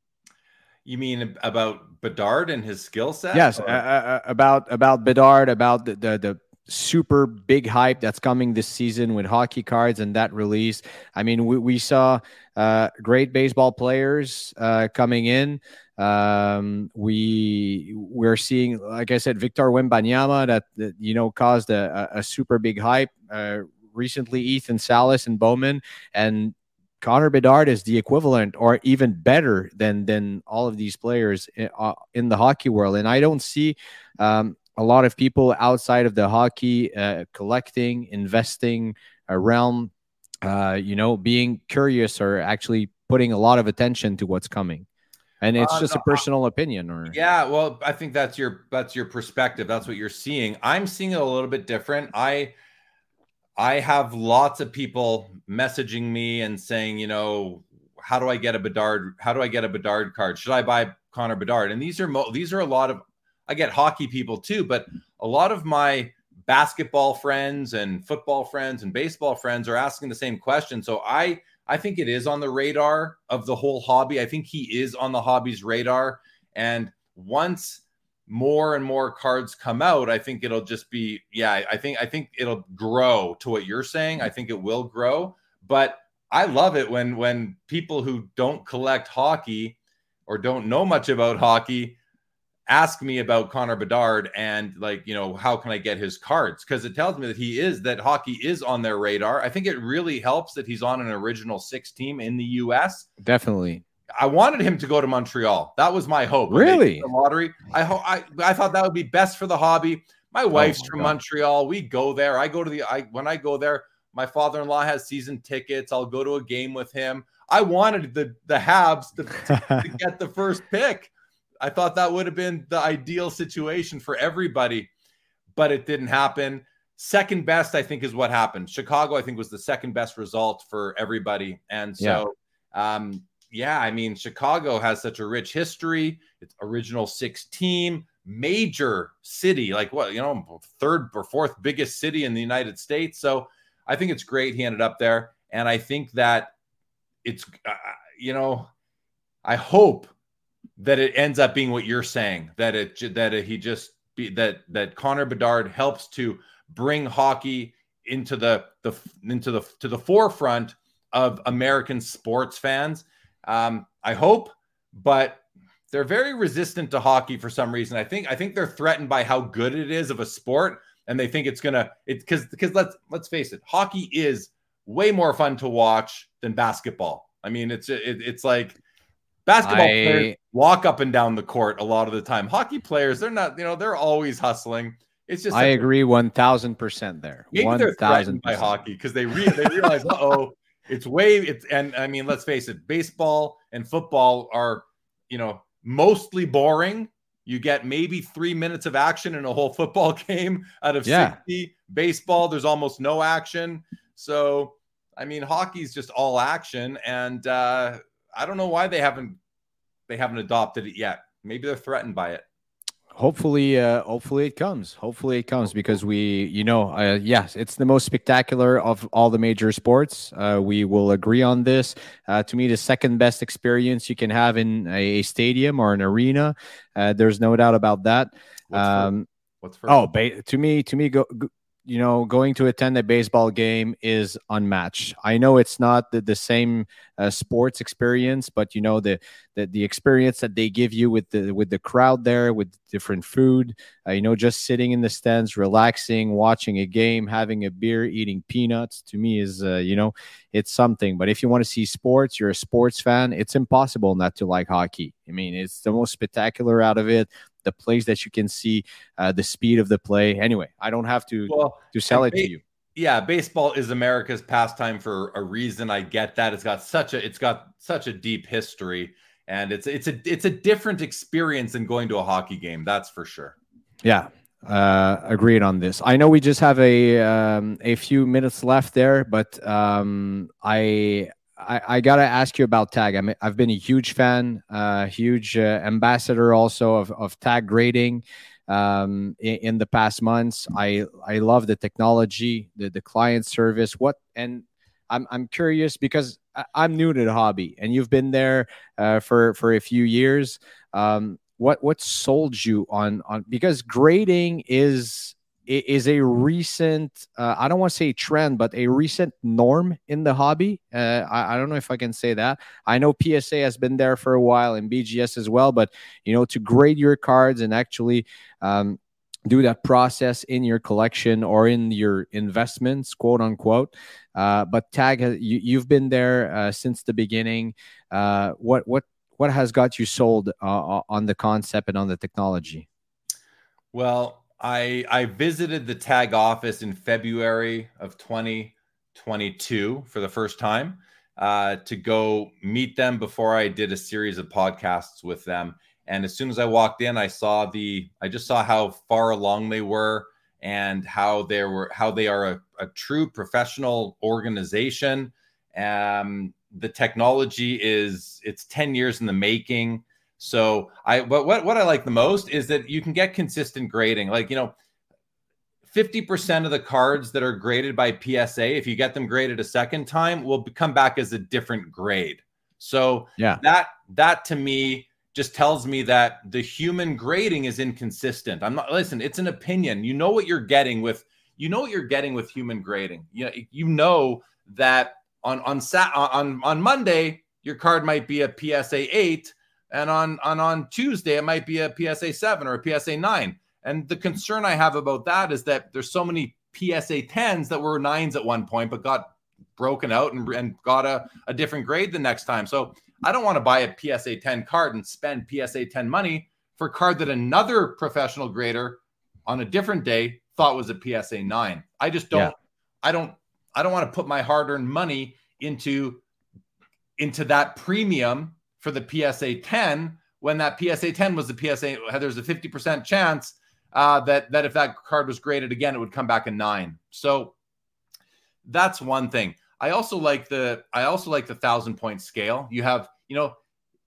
You mean about Bedard and his skill set? yes, Or- uh, uh, about about Bedard, about the, the the super big hype that's coming this season with hockey cards and that release. I mean, we we saw uh, great baseball players uh, coming in. Um, we we're seeing, like I said, Victor Wembanyama that, that you know caused a, a, a super big hype. Uh, recently, Ethan Salas and Bowman, and Connor Bedard is the equivalent or even better than than all of these players in, uh, in the hockey world. And I don't see um, a lot of people outside of the hockey uh, collecting, investing uh, realm, uh, you know, being curious or actually putting a lot of attention to what's coming. And it's Uh, just no, a personal opinion. Or Yeah, well, I think that's your that's your perspective. That's what you're seeing. I'm seeing it a little bit different. I I have lots of people messaging me and saying, you know, how do I get a Bedard? How do I get a Bedard card? Should I buy Connor Bedard? And these are mo- these are a lot of I get hockey people too, but a lot of my basketball friends and football friends and baseball friends are asking the same question. So I I think it is on the radar of the whole hobby. I think he is on the hobby's radar. And once more and more cards come out, I think it'll just be, yeah, I think, I think it'll grow to what you're saying. I think it will grow, but I love it when, when people who don't collect hockey or don't know much about hockey ask me about Connor Bedard and like, you know, how can I get his cards? Because it tells me that he is, that hockey is on their radar. I think it really helps that he's on an original six team in the U S. Definitely. I wanted him to go to Montreal. That was my hope. Really? The lottery. I, ho- I I thought that would be best for the hobby. My wife's oh my from God. Montreal. We go there. I go to the, I when I go there, my father-in-law has season tickets. I'll go to a game with him. I wanted the, the Habs to, to, to get the first pick. I thought that would have been the ideal situation for everybody, but it didn't happen. Second best, I think, is what happened. Chicago, I think, was the second best result for everybody. And so, yeah, um, yeah I mean, Chicago has such a rich history. It's original six team, major city, like what, you know, third or fourth biggest city in the United States. So I think it's great he ended up there. And I think that it's, uh, you know, I hope that it ends up being what you're saying, that it that it, he just be, that that Connor Bedard helps to bring hockey into the the into the to the forefront of American sports fans. Um, I hope, but they're very resistant to hockey for some reason. I think I think they're threatened by how good it is of a sport, and they think it's gonna it because because let's let's face it, hockey is way more fun to watch than basketball. I mean, it's it, it's like. Basketball I, players walk up and down the court a lot of the time. Hockey players, they're not, you know, they're always hustling. It's just I agree one thousand percent there. Maybe one, they're threatened by hockey because they re- they realize, uh-oh, it's way it's and I mean, let's face it, baseball and football are, you know, mostly boring. You get maybe three minutes of action in a whole football game out of yeah. sixty. Baseball, there's almost no action. So, I mean, hockey's just all action, and uh I don't know why they haven't they haven't adopted it yet. Maybe they're threatened by it. Hopefully, uh, hopefully it comes. Hopefully it comes because we, you know, uh, yes, it's the most spectacular of all the major sports. Uh, we will agree on this. Uh, to me, the second best experience you can have in a, a stadium or an arena. Uh, there's no doubt about that. What's um, first? What's first? Oh, ba- to me, to me, go. go you know, going to attend a baseball game is unmatched. I know it's not the, the same uh, sports experience, but you know the, the the experience that they give you with the with the crowd there, with different food. Uh, you know, just sitting in the stands, relaxing, watching a game, having a beer, eating peanuts. To me, is uh, you know, it's something. But if you want to see sports, you're a sports fan. It's impossible not to like hockey. I mean, it's the most spectacular out of it. The plays that you can see, uh, the speed of the play. Anyway, I don't have to well, to sell it ba- to you. Yeah, baseball is America's pastime for a reason. I get that. It's got such a it's got such a deep history, and it's it's a it's a different experience than going to a hockey game. That's for sure. Yeah, uh, agreed on this. I know we just have a um, a few minutes left there, but um, I. I, I gotta ask you about tag. I mean, I've been a huge fan, uh, huge uh, ambassador also of, of tag grading um, in, in the past months. I I love the technology, the the client service. What and I'm I'm curious because I, I'm new to the hobby, and you've been there uh, for for a few years. Um, what what sold you on on because grading is. is a recent, uh, I don't want to say trend, but a recent norm in the hobby. Uh, I, I don't know if I can say that. I know P S A has been there for a while and B G S as well, but, you know, to grade your cards and actually um, do that process in your collection or in your investments, quote unquote. Uh, but Tag, has, you, you've been there uh, since the beginning. Uh, what, what, what has got you sold uh, on the concept and on the technology? Well, I I visited the Tag office in February of twenty twenty-two for the first time uh, to go meet them before I did a series of podcasts with them. And as soon as I walked in, I saw the I just saw how far along they were and how they were how they are a, a true professional organization. Um, the technology is it's ten years in the making. So I, but what, what I like the most is that you can get consistent grading. Like, you know, fifty percent of the cards that are graded by P S A, if you get them graded a second time, will come back as a different grade. So yeah, that that to me just tells me that the human grading is inconsistent. I'm not listen, it's an opinion. You know what you're getting with you know what you're getting with human grading. You know, you know that on on Sat on on Monday your card might be a P S A eight, and on on on Tuesday it might be a P S A seven or a P S A nine. And the concern I have about that is that there's so many P S A tens that were nines at one point, but got broken out and, and got a, a different grade the next time. So I don't want to buy a P S A ten card and spend P S A ten money for a card that another professional grader on a different day thought was a P S A nine. I just don't, yeah. I don't, I don't want to put my hard-earned money into, into that premium for the P S A ten when that P S A ten was the P S A, there's a fifty percent chance Uh, that that if that card was graded again, it would come back a nine. So that's one thing. I also like the I also like the thousand point scale. You have, you know,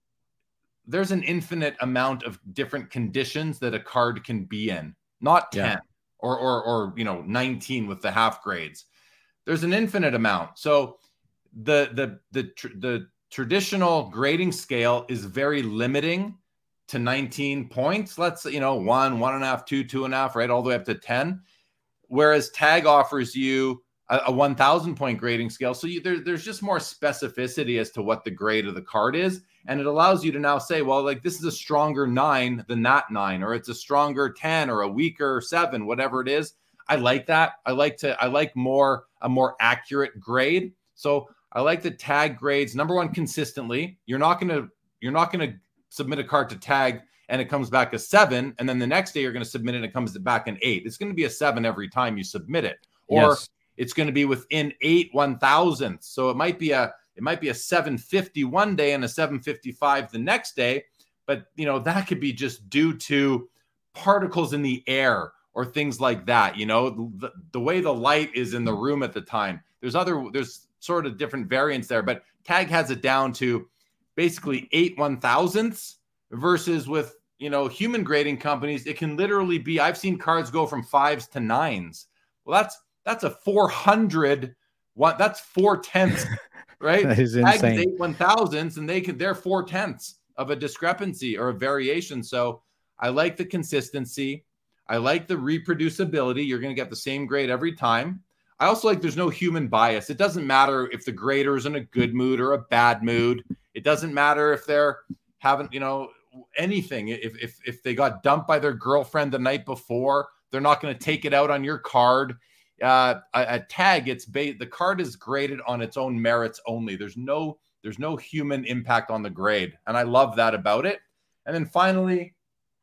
there's an infinite amount of different conditions that a card can be in, not ten yeah. or or or you know nineteen with the half grades. There's an infinite amount. So the the the tr- the traditional grading scale is very limiting to nineteen points. Let's, you know, one, one and a half, two, two and a half, right? All the way up to ten. Whereas Tag offers you a, a one thousand point grading scale. So you, there, there's just more specificity as to what the grade of the card is. And it allows you to now say, well, like this is a stronger nine than that nine, or it's a stronger ten or a weaker seven, whatever it is. I like that. I like to, I like more, a more accurate grade. So I like the Tag grades. Number one, consistently, you're not going to, you're not going to submit a card to Tag and it comes back a seven, and then the next day you're going to submit it and it comes back an eight. It's going to be a seven every time you submit it, or yes. it's going to be within eight one thousandths. So it might be a it might be a seven fifty one day and a seven fifty-five the next day, but you know that could be just due to particles in the air or things like that. You know, the, the way the light is in the room at the time. There's other there's sort of different variants there, but Tag has it down to basically eight one thousandths versus with, you know, human grading companies, it can literally be, I've seen cards go from fives to nines. Well, that's, that's a four hundred one. That's four tenths, right? That is insane. Eight one thousandths and they can, they're four tenths of a discrepancy or a variation. So I like the consistency. I like the reproducibility. You're going to get the same grade every time. I also like there's no human bias. It doesn't matter if the grader is in a good mood or a bad mood. It doesn't matter if they're haven't, you know, anything. If if if they got dumped by their girlfriend the night before, they're not going to take it out on your card. Uh, a, a Tag, it's ba- the card is graded on its own merits only. There's no there's no human impact on the grade, and I love that about it. And then finally,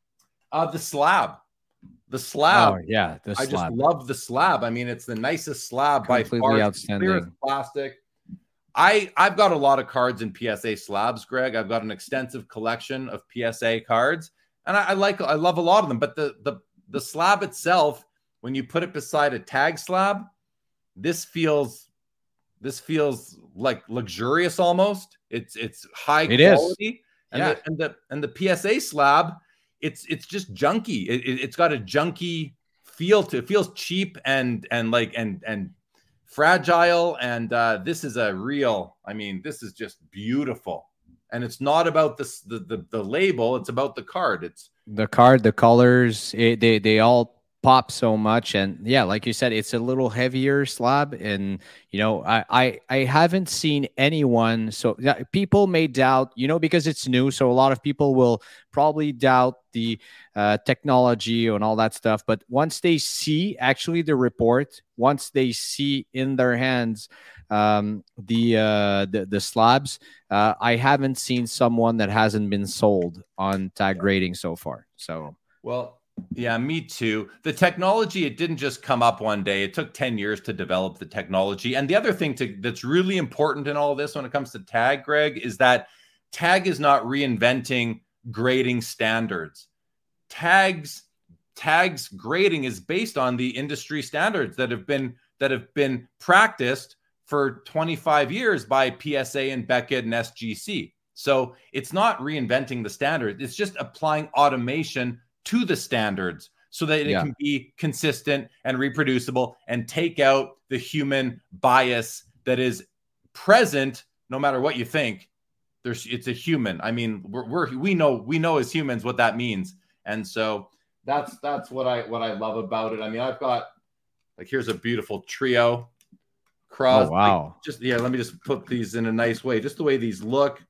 uh, the slab. The slab. Oh, yeah, the I slab. just love the slab. I mean, it's the nicest slab Completely by far. outstanding. Clear as plastic. I, I've got a lot of cards in P S A slabs, Greg. I've got an extensive collection of P S A cards, and I, I like I love a lot of them. But the the the slab itself, when you put it beside a Tag slab, this feels this feels like luxurious almost. It's it's high it quality, is. and Yeah. the, and the and the P S A slab, it's it's just junky. It, it, it's got a junky feel to it. Feels cheap and and like and and fragile. And uh, this is a real. I mean, this is just beautiful. And it's not about this the the, the label. It's about the card. It's the card, the colors. It, they they all pop so much. And yeah, like you said, it's a little heavier slab. And you know, I I, I haven't seen anyone. So yeah, people may doubt, you know, because it's new. So a lot of people will probably doubt the uh, technology and all that stuff. But once they see actually the report, once they see in their hands um, the, uh, the the slabs, uh, I haven't seen someone that hasn't been sold on Tag grading so far. So well. Yeah, me too. The technology, it didn't just come up one day. It took ten years to develop the technology. And the other thing to, that's really important in all this when it comes to Tag, Greg, is that Tag is not reinventing grading standards. Tags, Tag's grading is based on the industry standards that have been that have been practiced for twenty-five years by P S A and Beckett and S G C. So it's not reinventing the standard. It's just applying automation to the standards so that it Yeah. can be consistent and reproducible and take out the human bias that is present no matter what you think. There's it's a human. I mean, we're, we're we know we know as humans what that means. And so that's that's what I what I love about it. I mean, I've got like here's a beautiful trio. Crosby. Oh, wow. Just yeah, let me just put these in a nice way. Just the way these look.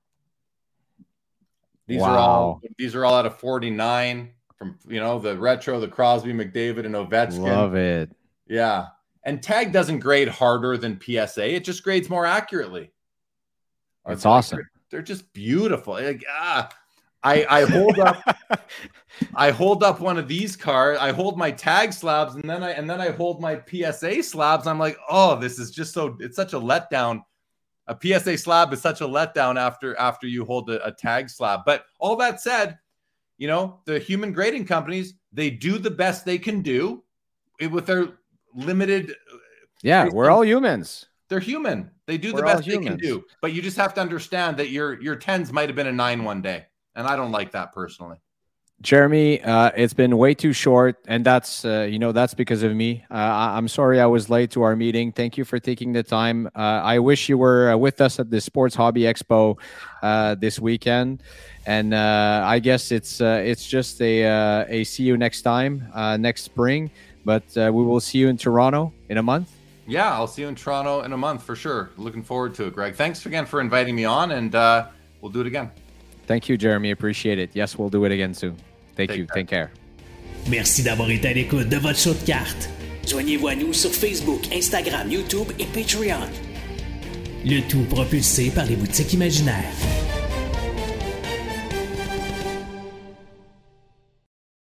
These Wow. are all these are all out of forty-nine from you know the retro, the Crosby, McDavid, and Ovechkin. Love it. Yeah. And Tag doesn't grade harder than P S A. It just grades more accurately. That's awesome. They're, they're just beautiful. Like, ah, I, I hold up I hold up one of these cards. I hold my Tag slabs and then I and then I hold my P S A slabs. I'm like, oh, this is just so it's such a letdown. A P S A slab is such a letdown after after you hold a, a Tag slab. But all that said, you know, the human grading companies, they do the best they can do with their limited. Yeah, we're all humans. They're human. They do the We're all best they can humans. do. But you just have to understand that your your tens might have been a nine one day. And I don't like that personally. Jeremy, uh, it's been way too short, and that's uh, you know that's because of me. Uh, I- I'm sorry I was late to our meeting. Thank you for taking the time. Uh, I wish you were uh, with us at the Sports Hobby Expo uh, this weekend, and uh, I guess it's uh, it's just a uh, a see you next time uh, next spring. But uh, we will see you in Toronto in a month. Yeah, I'll see you in Toronto in a month for sure. Looking forward to it, Greg. Thanks again for inviting me on, and uh, we'll do it again. Thank you, Jeremy. Appreciate it. Yes, we'll do it again soon. Thank Take you. care. Take care. Merci d'avoir été à l'écoute de votre show de cartes. Joignez-vous à nous sur Facebook, Instagram, YouTube et Patreon. Le tout propulsé par les boutiques imaginaires.